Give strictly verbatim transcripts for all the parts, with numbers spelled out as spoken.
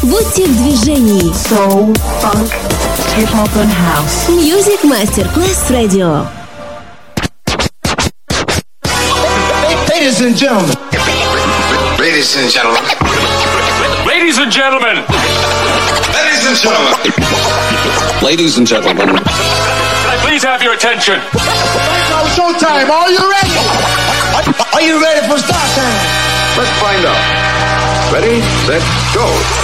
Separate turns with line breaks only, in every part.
Будьте в движении.
Soul, funk, hip-hop and house.
Music Masterclass Radio.
Ladies and gentlemen.
Ladies and gentlemen.
Ladies and gentlemen.
Ladies and gentlemen.
Ladies and gentlemen.
Can I
please have your attention?
Now showtime. Are you ready? Are you ready for start time?
Let's find out. Ready, set, go.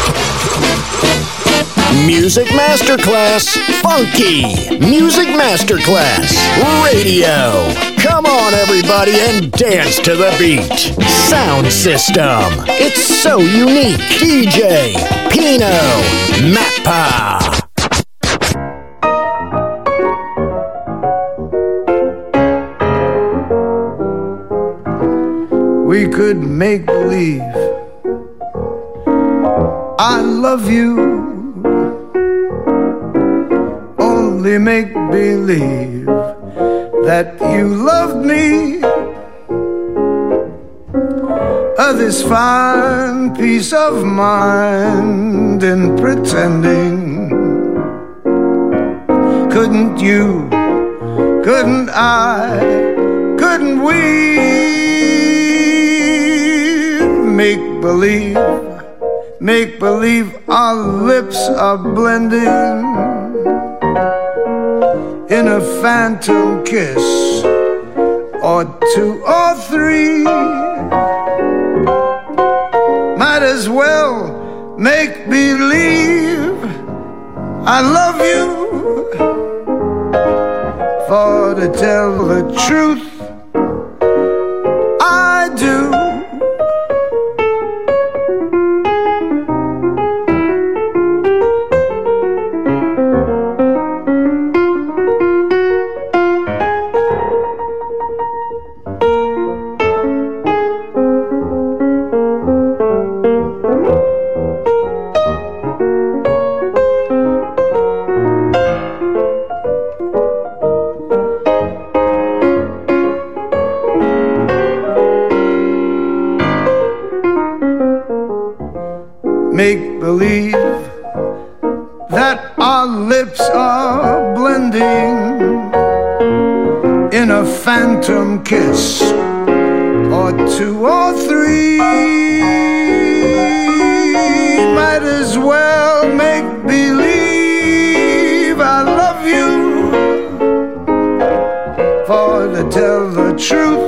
Music Masterclass Funky. Music Masterclass Radio. Come on, everybody, and dance to the beat. Sound system. It's so unique. D J Pino Mappa.
We could make believe I love you. Only make believe that you loved me. Oh, this fine peace of mind in pretending. Couldn't you, couldn't I, couldn't we make believe, make believe our lips are blending in a phantom kiss, or two or three. Might as well make believe I love you, for to tell the truth, I do. Make believe that our lips are blending in a phantom kiss, or two or three. Might as well make believe I love you, for to tell the truth,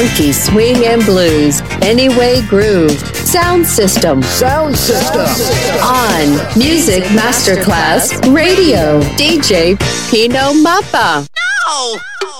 funky swing and blues. Anyway Groove. Sound System.
Sound System.
On Music Masterclass Radio. D J Pino Mappa.
No!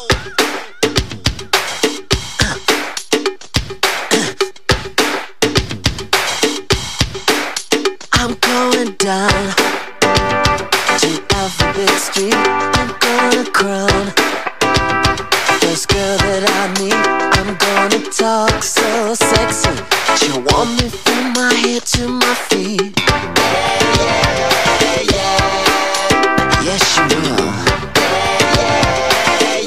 I'm going down to Alphabet Street. I'm gonna crown first girl that I meet. I'm gonna talk so sexy. She'll want me from my head to my feet. Yeah, yeah, yeah. Yes, she will. Yeah,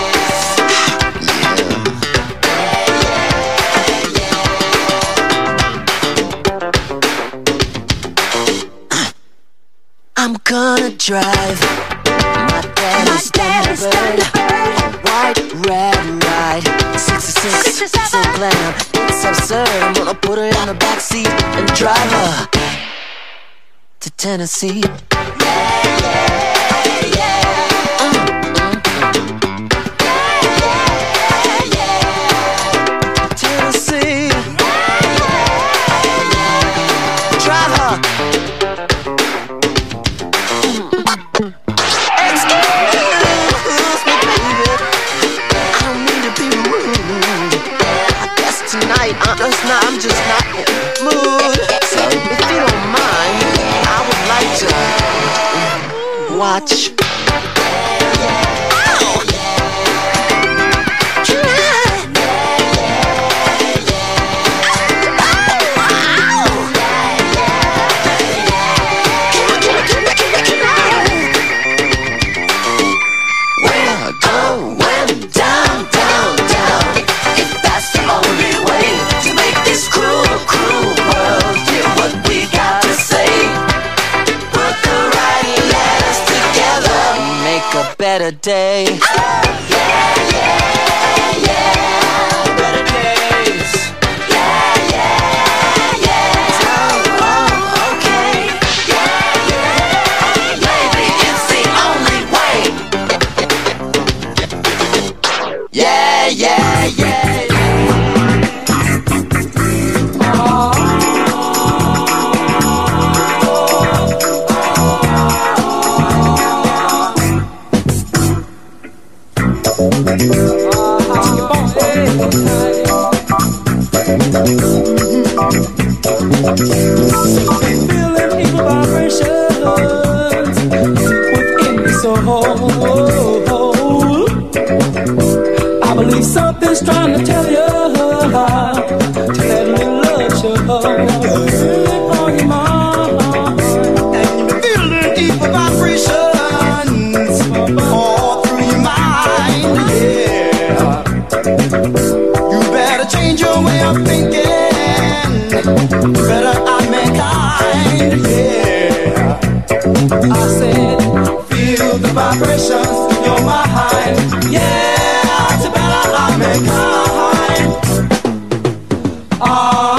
yeah, yeah. I'm gonna drive my daddy's Thunderbird, white, red, ride, sixty-six, so glam, it's absurd. I'm gonna put her in the backseat and drive her to Tennessee. Yeah, yeah, yeah. Mm, mm, mm. Yeah, yeah, yeah. Tennessee. Yeah, yeah, yeah. Drive her. I'm just not, I'm just not in the mood. So if you don't mind, I would like to watch. Better day. Yeah, yeah, yeah. Better days. Yeah, yeah, yeah. Oh, oh, okay. Yeah, yeah. Maybe it's the only way. Yeah, yeah, yeah.
Feeling evil vibrations within me so I believe something's trying to tell you to let me love you. Feeling on your mind, and you're feeling evil vibrations all through your mind. Yeah, you better change your way of thinking. Better I'm mankind, yeah. I said, feel the vibrations in your mind. Yeah, it's better I'm mankind. Ah,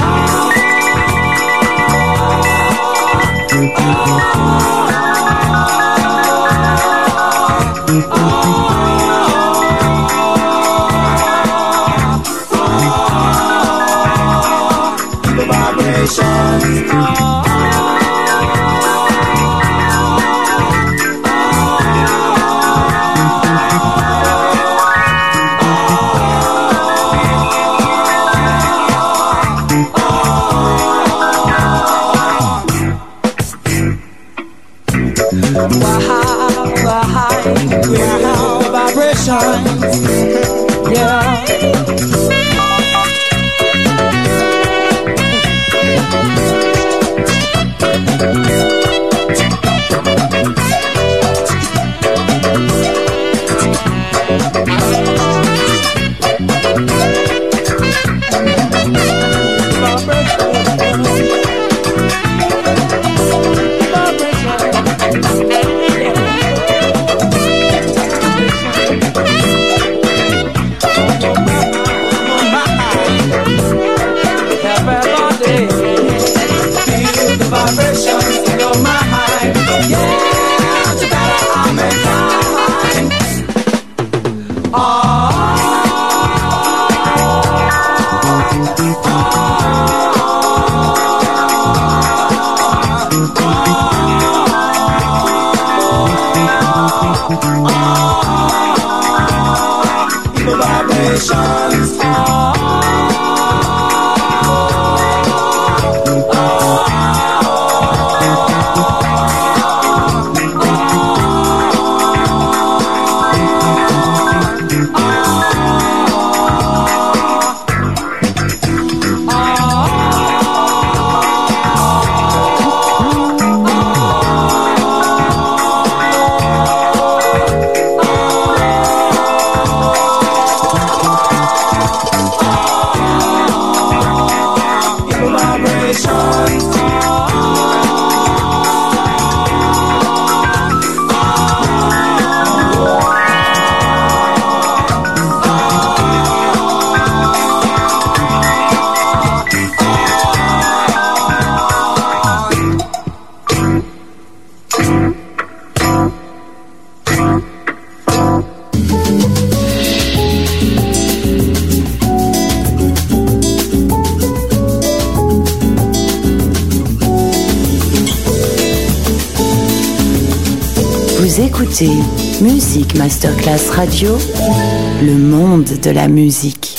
yeah.
Vous écoutez Music Masterclass Radio, le monde de la musique.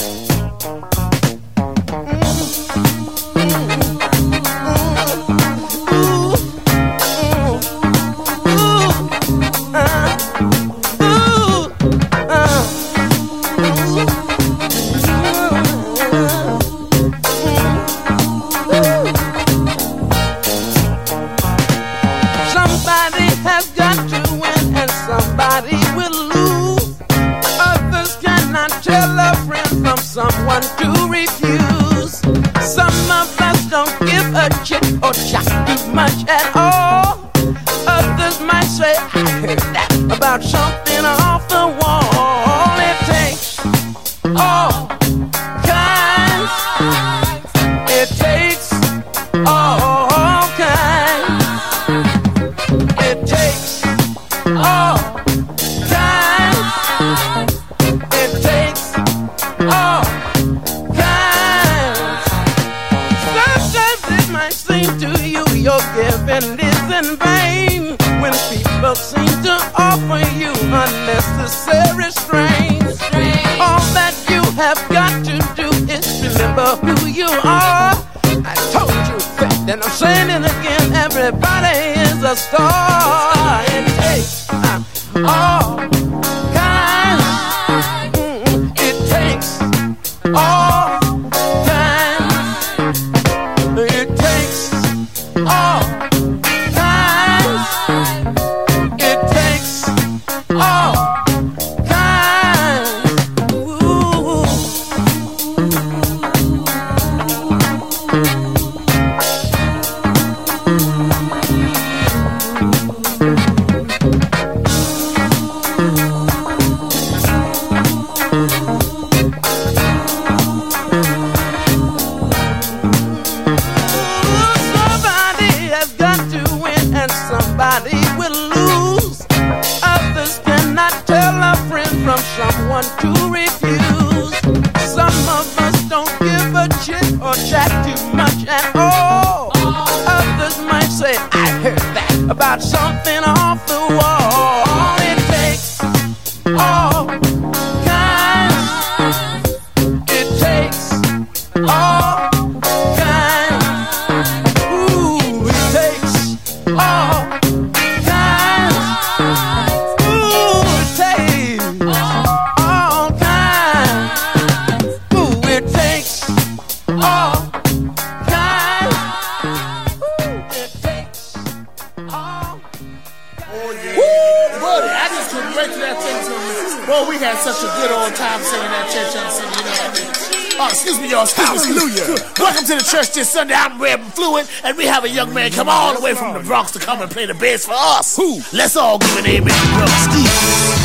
This Sunday, I'm Reb and Fluent, and we have a young man come all the way from the Bronx to come and play the bass for us. Who? Let's all give an amen to Brother Steve.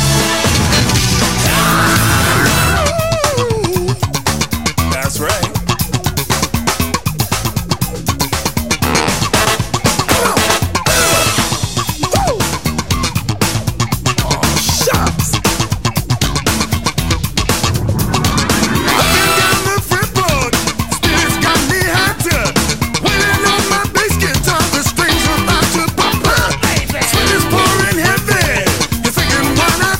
That's right.
Why not?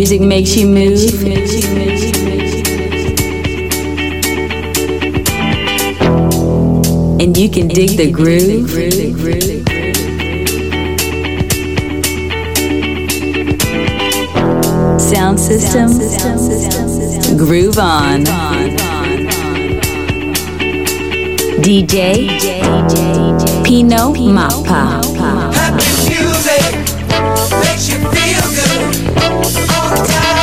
music makes you move. And you can dig the groove. Sound system, groove on. D J Pino Mappa.
Happy music makes you feel good all the time.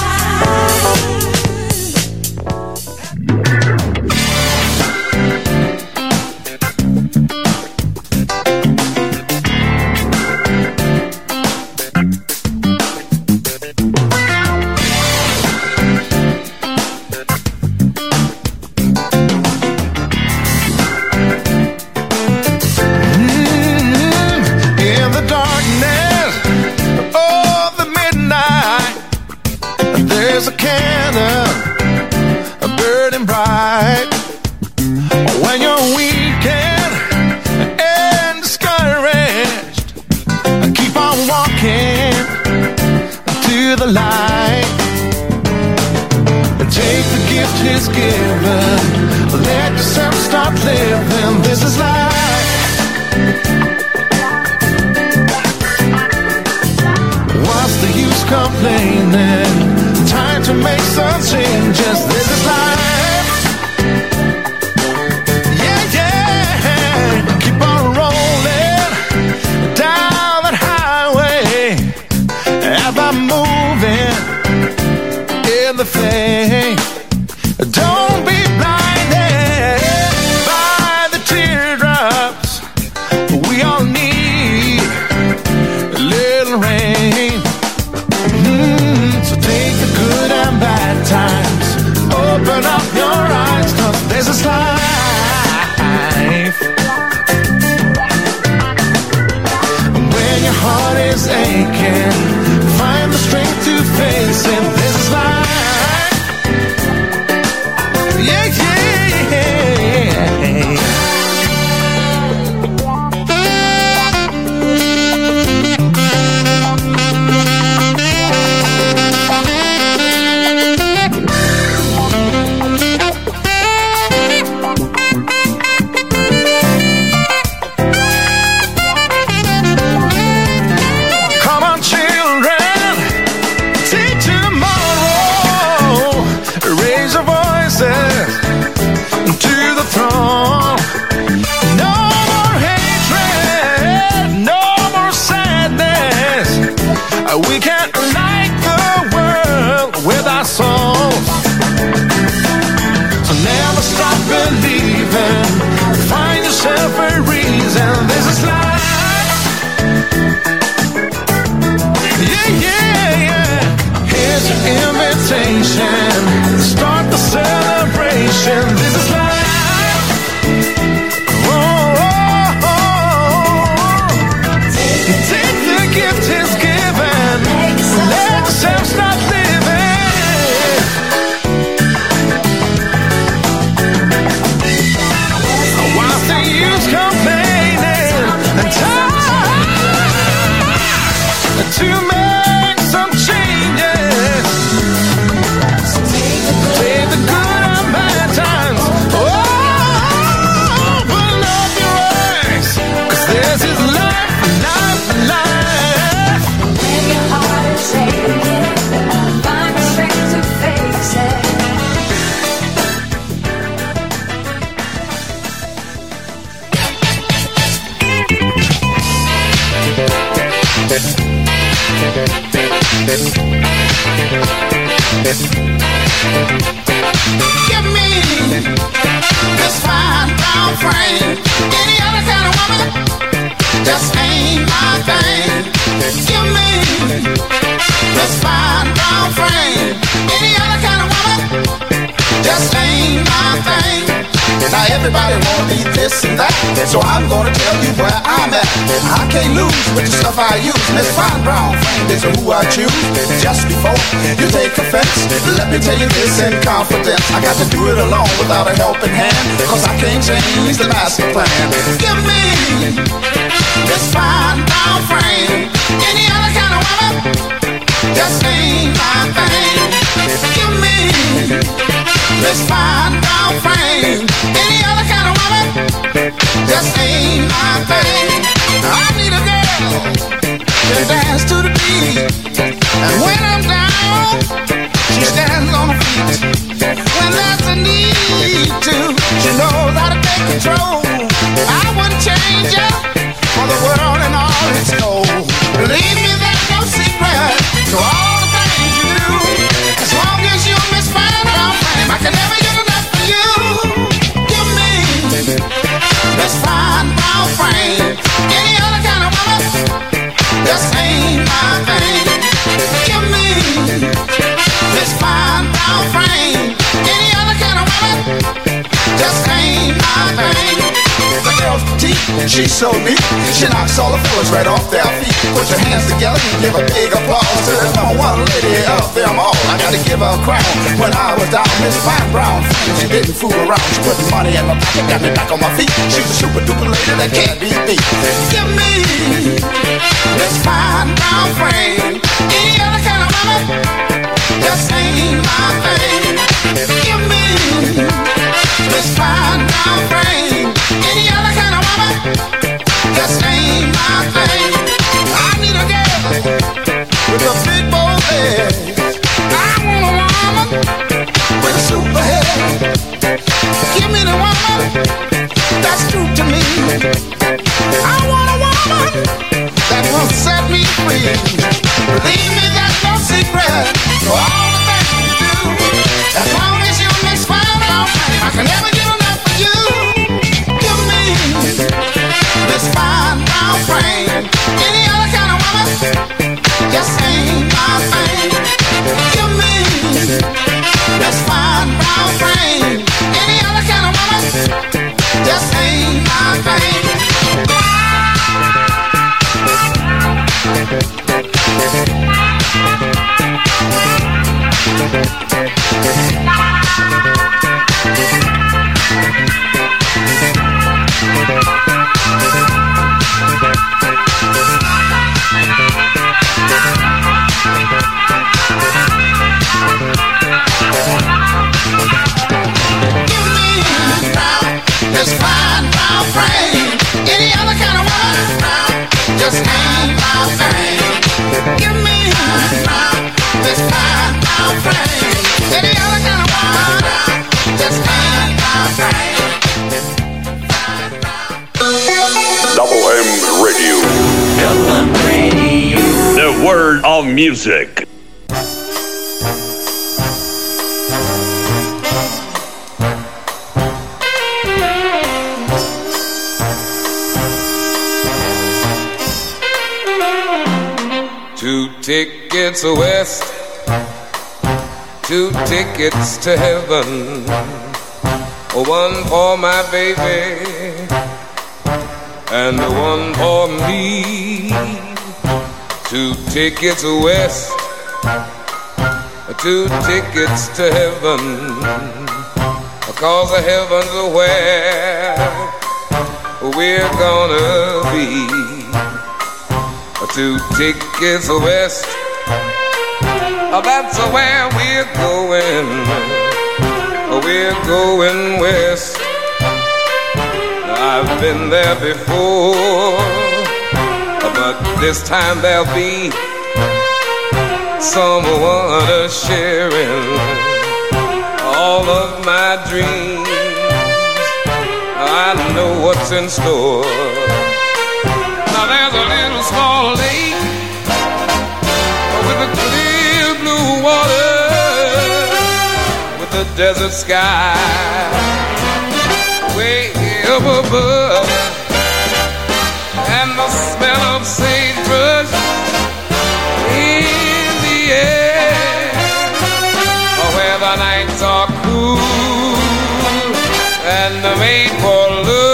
Give me this fine brown frame. Any other kind of woman just ain't my thing. Give me this fine brown frame. Any other kind of woman just ain't my thing. Now everybody wanna be this and that, so I'm gonna tell you where I'm at. I can't lose with the stuff I use. This fine brown frame is who I choose. Just before you take offense, let me tell you this in confidence. I got to do it alone without a helping hand, cause I can't change the master plan. Give me this fine brown frame. Any other kind of woman just ain't my thing. Give me this fine brown frame. Any other kind of woman just ain't my thing. I need a girl to dance to the beat, and when I'm down, she stands on her feet. When there's a need to, she knows how to take control. I wouldn't change her for the world and all its gold. Believe me, there's no secret to all the things you do. As long as you miss fine brown frame, I can never get enough of you. Give me this fine brown frame. Any other kind of woman just ain't my thing. Give me this fine brown frame. Any other kind of woman just ain't my thing. The girl's petite, she's so neat. She knocks all the fellas right off their feet. Put your hands together and give a big applause to the number one lady of them all. I gotta give her a crown. When I was down, Miss Fine Brown Frame, she didn't fool around. She put money in my pocket, got me back on my feet. She's a super duper lady that can't be beat. Give me this fine brown frame. Any other kind of woman just ain't my thing. Give me this fine brown frame. Any other kind of woman just ain't my thing. I need a girl with a big bold head. I want a woman with a super head. Give me the woman that's true to me. I want a woman that will set me free. Believe me, there's no secret to all the things you do. As long as you mix fine brown frame, I can never get enough of you. Give me this fine brown frame. Any other kind of woman just ain't my thing. Give me this fine brown frame. Any other kind of woman just ain't my thing. This fine brown frame. Any other kind of woman just ain't my thing. Give me this fine brown frame. Any other kind of woman just ain't my thing.
Double M Radio.
Double M Radio. The word of music.
Two tickets west, two tickets to heaven. One for my baby and one for me. Two tickets west, two tickets to heaven. Cause heaven's where we're gonna be. Two tickets west, that's where we're going. We're going west. I've been there before, but this time there'll be someone sharing all of my dreams. I know what's in store. Now there's a little small lake with a clear blue water, with the desert sky way up above, and the smell of sagebrush in the air, where the nights are cool and made for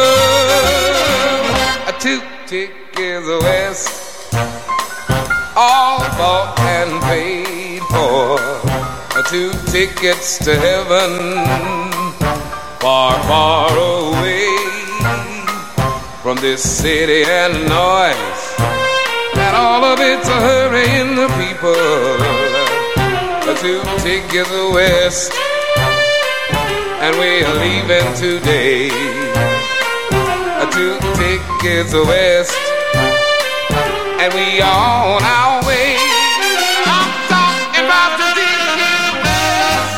love. Two tickets west, all bought and paid for. Two tickets to heaven, far, far away from this city and noise and all of it's a hurrying the people. Two tickets west, and we're leaving today. Two tickets west, and we on our way. I'm talking about the tickets west.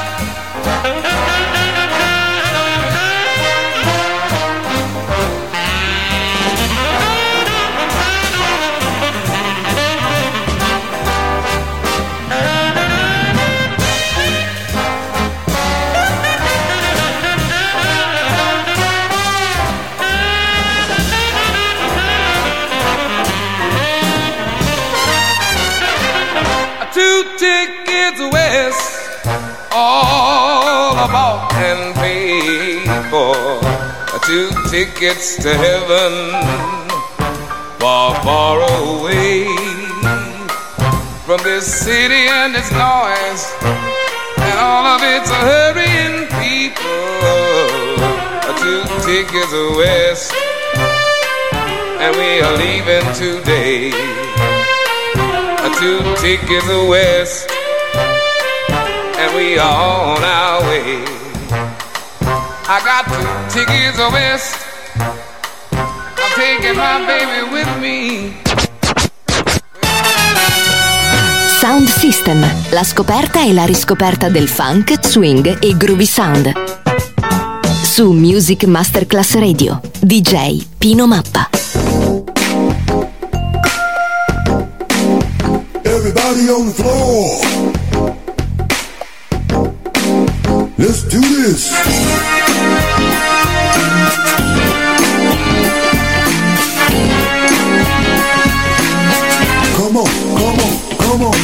Two tickets west, all bought and paid for. Two tickets to heaven, far, far away from this city and its noise, and all of its hurrying people. Two tickets west, and we are leaving today. Two tickets west, and we are on our way. I got two tickets west, I'm taking my baby with me.
Sound System, la scoperta e la riscoperta del funk, swing e groovy sound. Su Music Masterclass Radio, D J Pino Mappa.
Everybody on the floor. Let's do this. Come on, come on, come on.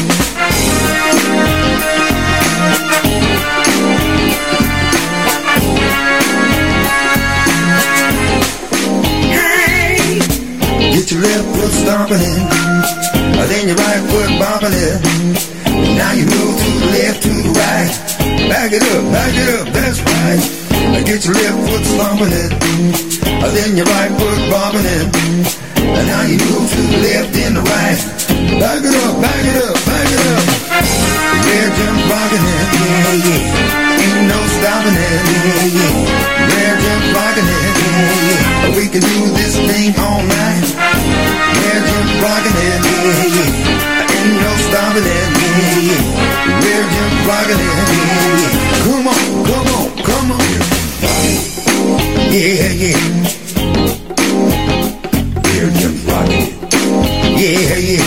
Hey, get your left foot stomping in. Then your right foot bobbing it. Now you move to the left, to the right. Back it up, back it up, that's right. Get your left foot stomping it. Then your right foot bobbing it. Now you move to the left and the right. Back it up, back it up, back it up. Red jump rocking it, yeah, yeah. Ain't no stopping it, yeah, yeah. Red jump rocking it, yeah, yeah. We can do this thing all night. Red jump rocking it, yeah, yeah. Ain't no stopping it, yeah, yeah. Red jump rocking it, yeah, yeah. Come on, come on, come on. Yeah, yeah. Red jump rocking it. Yeah, yeah.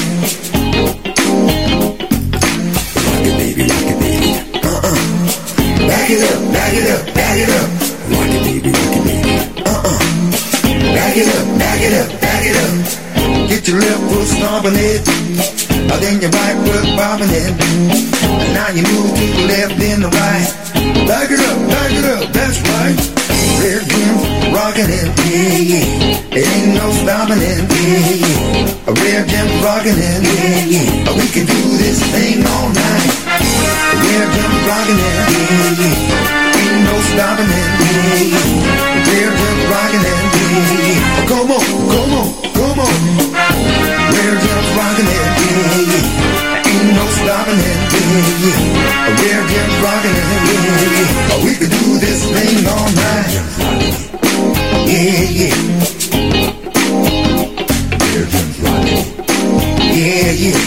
Rock it, baby, rock it, baby. Uh-uh. Back it up, back it up, back it up. Rock it, baby, rock it, baby. Uh-uh. Back it up, back it up, back it up. Get your left foot stomping it. Then your right foot bobbing it. And now you move to the left, then the right. Back it up, back it up, that's right. Red Jim rocking it, yeah, yeah. It ain't no stopping it, yeah, yeah. A Red Jim rocking it, yeah, yeah. We can do this thing all night. A Red Jim rocking it, yeah, yeah. Ain't no stopping it, yeah, yeah. A Red Jim rocking it, yeah, yeah. Come on, come on, come on. Red Jim rocking it, yeah, yeah. Ain't no stopping it, yeah, yeah. A Red Jim rocking it, yeah, yeah. We can do this thing all night. Yeah, yeah. Red Jim's rocking it. Yeah, yeah.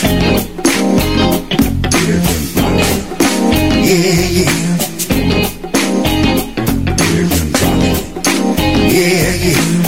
Red Jim's rocking it. Yeah, yeah. Red Jim's rocking it. Yeah, yeah.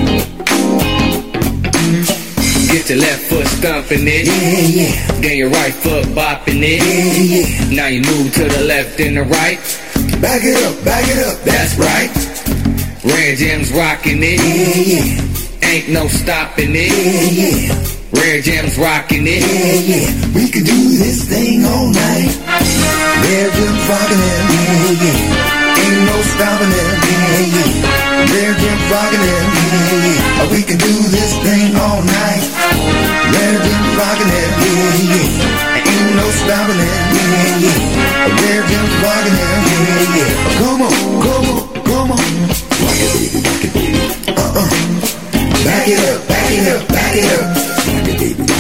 Get your left foot stomping it.
Yeah, yeah.
Then your right foot bopping it.
Yeah, yeah.
Now you move to the left and the right.
Back it up, back it up, that's right.
Red Jim's rocking it.
Yeah, yeah.
Ain't no stopping it.
Yeah, yeah.
Red Jim's rocking it.
Yeah, yeah. We can do this thing all night. Red Jim's rocking it. Yeah, yeah. Ain't no stopping it. Yeah, yeah. Red Jim's rocking it. Yeah, yeah. We can do this thing all night. Red Jim's rocking it. Yeah, yeah. Ain't no stopping it. Yeah, yeah. Red Jim's rocking it. Yeah, yeah. Come on, come on, come on. Rock it, baby, rock it, baby. Uh-uh. Back it up, back it up, back it up. Rock it, baby.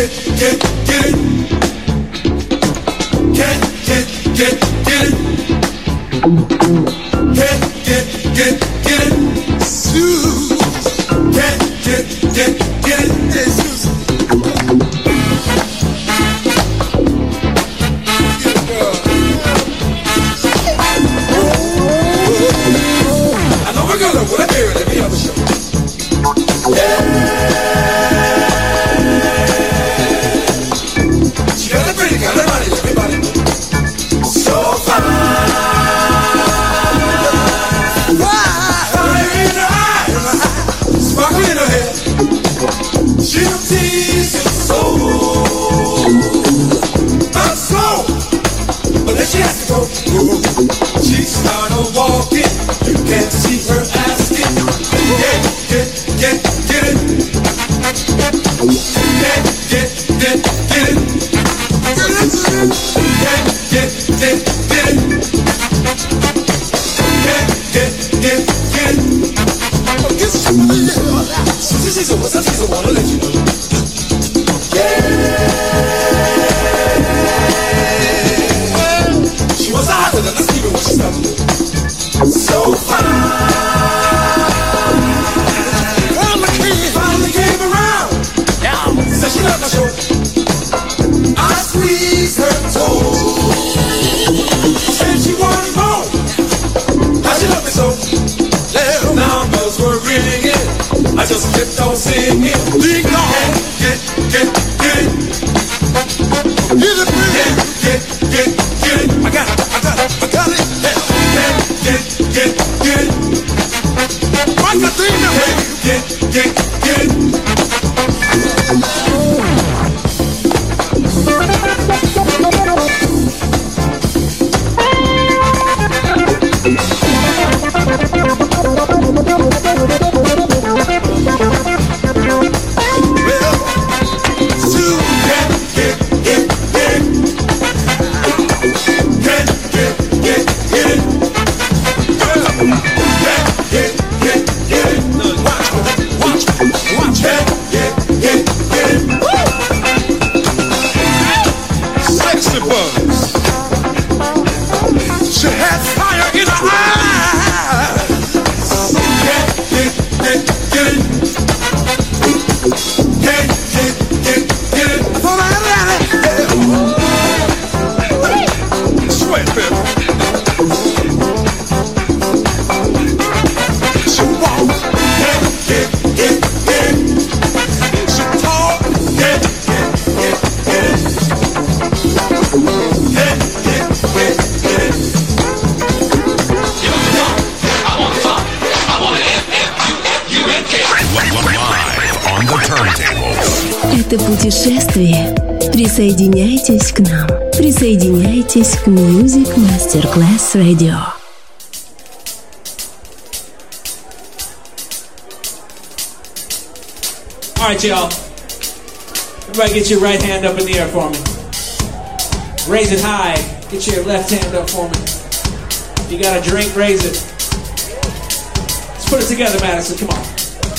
get, get, get it. Get, get, get, get it. Get, get, get, get it. Susan. Get, get, get, get it. Hey, Susan. I know we're gonna put a beer in every other show. Yeah. She got a pretty kind of money, everybody. So fine. Fire in her eyes, sparkle in her hair. She'll tease your soul. My soul. But then she has to go. She started walking. You can't see her asking. Get, get, get, get it. Get, get, get, get it. Get, get, get, get it. Get, get, get, get it. Oh, get some of it. Susie Caesar was a Caesar, wanna let you know. Yeah. She was hotter than a Steven when she started. So fine. Finally came around. Said she loved my show. I squeezed her toe. Said she wanted more. How she loved me so. Numbers were ringing. I just kept on singing. Ding dong. Get, get, get it. Get it, get, get, get, get it. I got it, I got it, I got it. Get, get, get, get it. What's the thing that way? Get, get, get it.
Это путешествие. Присоединяйтесь к нам. Присоединяйтесь к Music Masterclass Radio.
All right, y'all. Everybody get your right hand up in the air for me. Raise it high. Get your left hand up for me. If you got a drink, raise it. Let's put it together, Madison. Come on.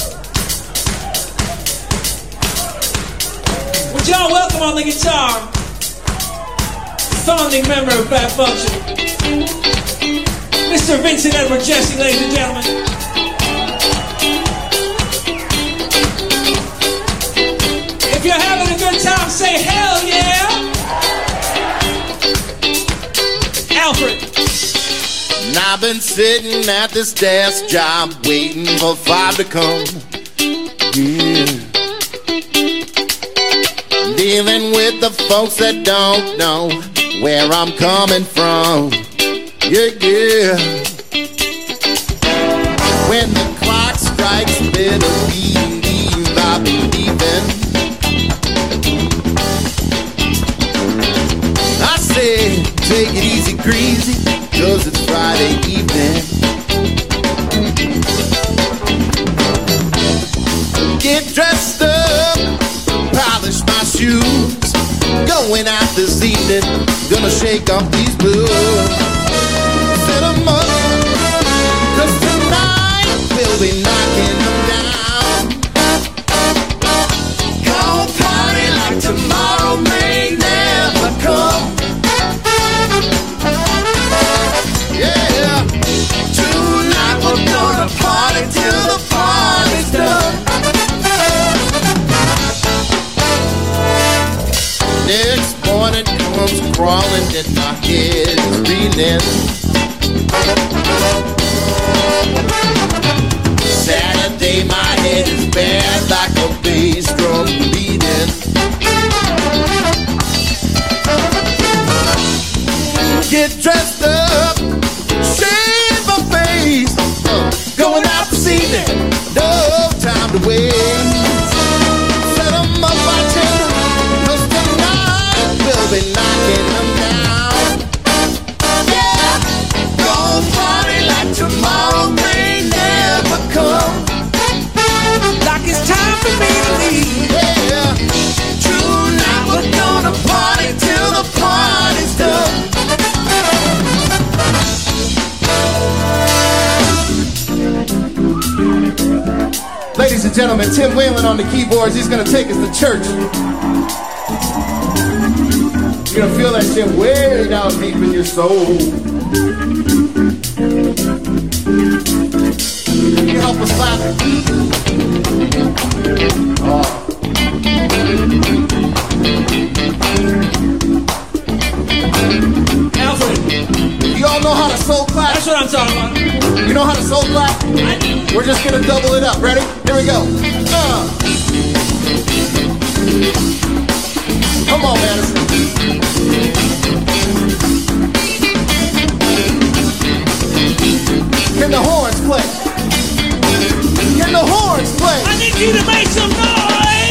Would y'all welcome on the guitar, founding member of Fat Function, Mister Vincent Edward Jesse, ladies and gentlemen. If you're having a good time, say hell yeah. Alfred.
And I've been sitting at this desk job waiting for five to come. Yeah. Dealing with the folks that don't know where I'm coming from. Yeah, yeah. When the clock strikes midnight, I'll be leaving. I say, take it easy, greasy, 'cause it's Friday evening. Get dressed up, polish my shoes, going out this evening, gonna shake off these blues. Set 'em up, 'cause tonight we'll be knocking them down. Gonna party like tomorrow. morning comes crawling and my head is reeling. Saturday, my head is bad like a bass drum beating. Get dressed up, shave my face, uh, going out this evening, no time to waste. Set 'em up, bartender, 'cause tonight we'll be knocking them down. Yeah, gonna party like tomorrow may never come. Like it's time for me to leave. Yeah, tonight we're gonna party till the party's done. Ladies and gentlemen, Tim Whalen on the keyboards. He's gonna take us to church. You're gonna feel that shit way down deep in your soul. Can you help us clap? Oh.
Alfred,
you all know how to soul clap?
That's what I'm talking about.
You know how to soul clap? We're just gonna double it up. Ready? Here we go. Uh. Come on, Madison. Can the horns play? Can the horns play?
I need you to make some noise!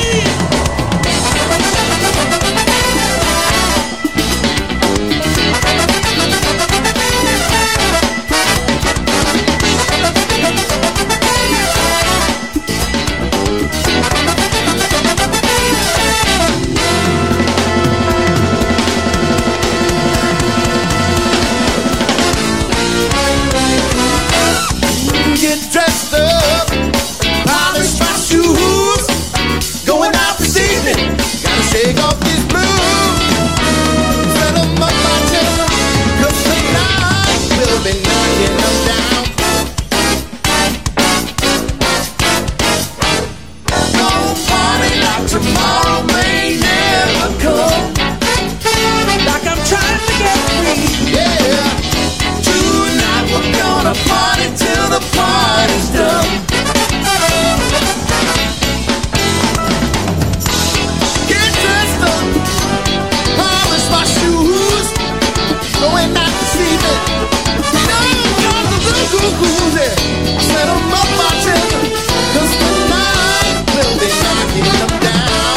Get dressed up, polish my shoes, going out this evening, gotta shake off these blues. Set 'em up, bartender, 'cause tonight we'll be knocking them down. Gonna party like tomorrow may never come.
Like I'm trying to get free.
Yeah, tonight we're gonna party till the party's done. Get dressed up, polish my shoes, going out this evening. Got the goo-goo-goos there. Set 'em up, bartender, 'cause tonight we'll be knocking them down.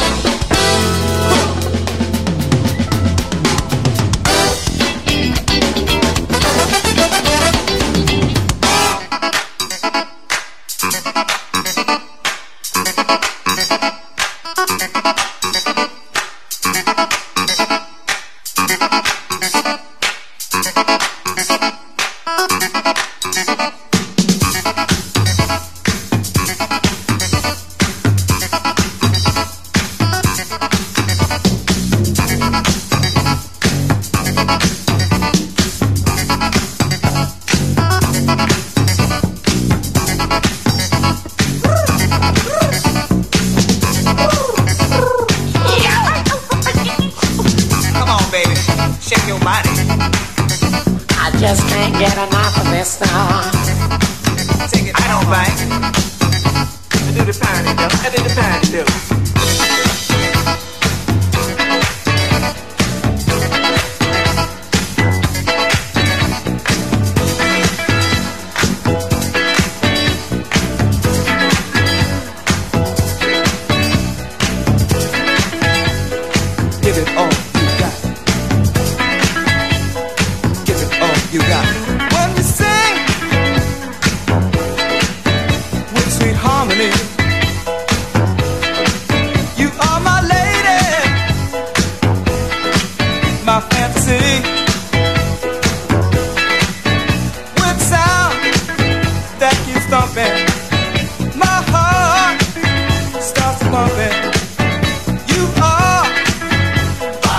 Pumping. You are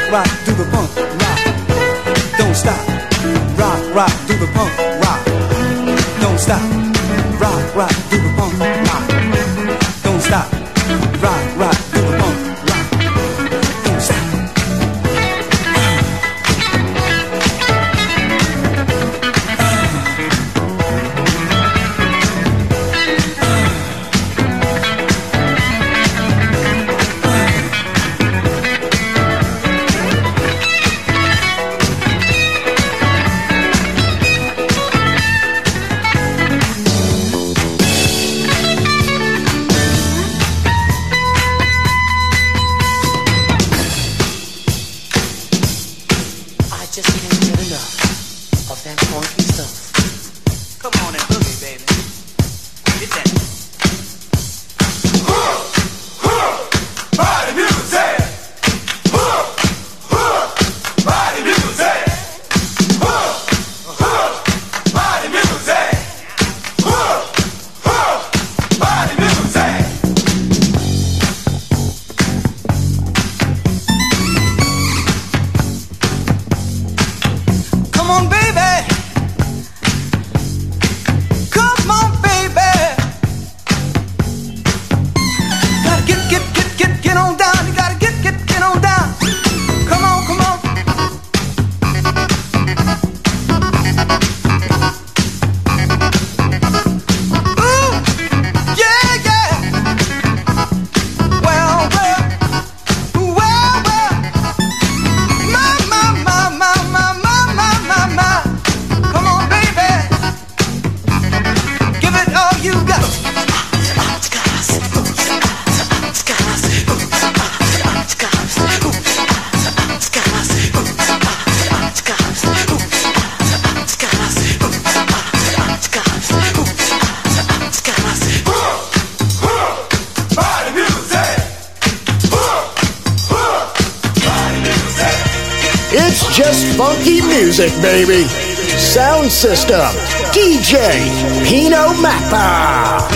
rock to the punk rock. Don't stop. Rock, rock to the punk rock. Don't stop. Rock, rock to the punk rock. Don't stop. Rock, rock to the punk rock. Don't stop.
It's just funky music, baby. Sound System, D J Pino Mappa.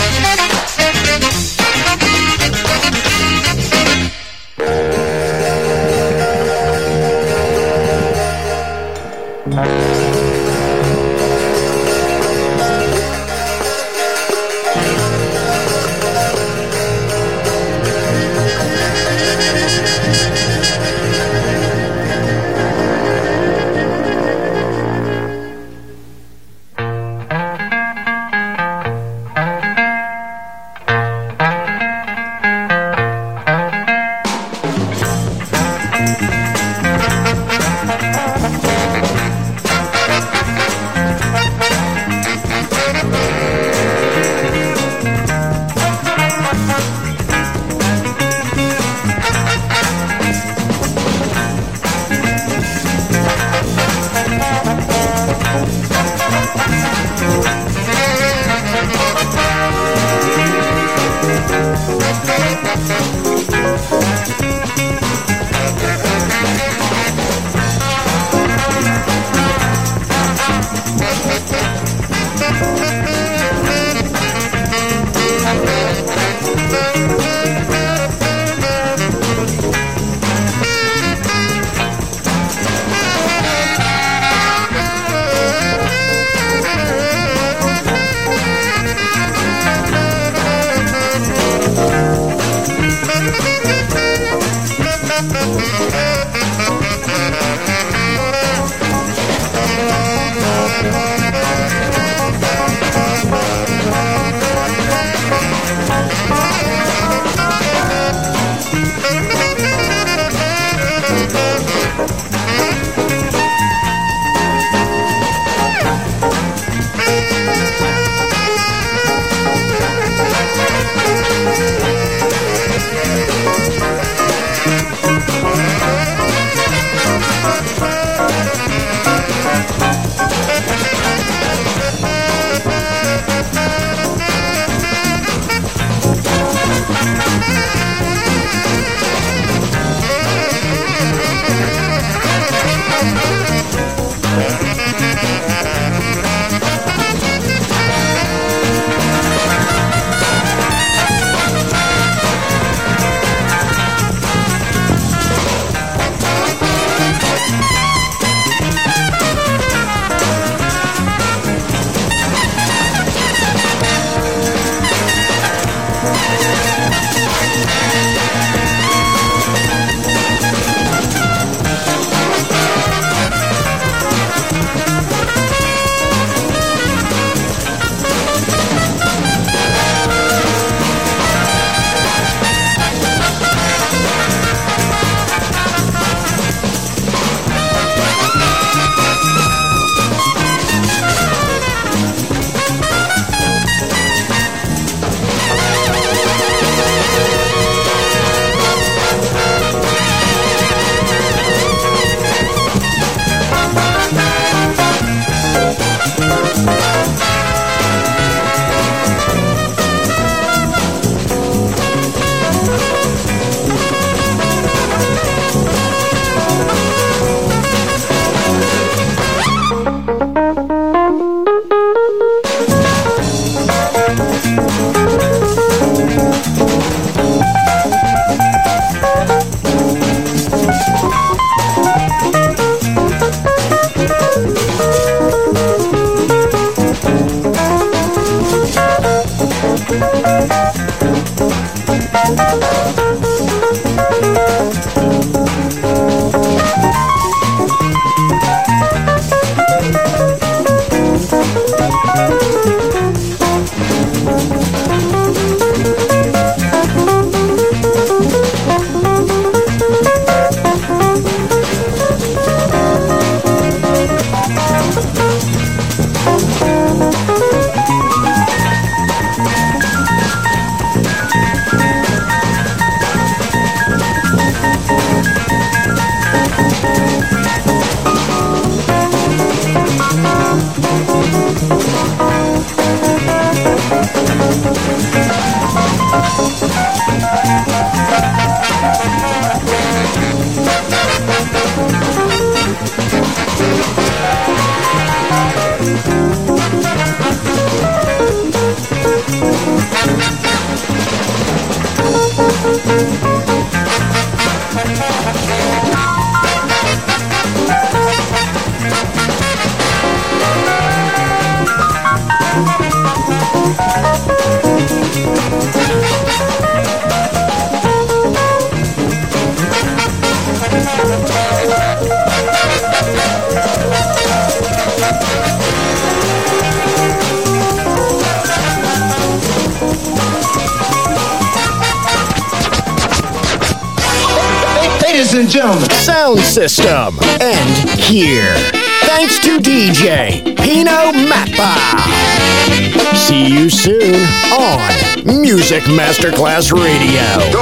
Ladies and gentlemen,
Sound System. And here, thanks to D J Pino Mappa. See you soon on Music Masterclass Radio.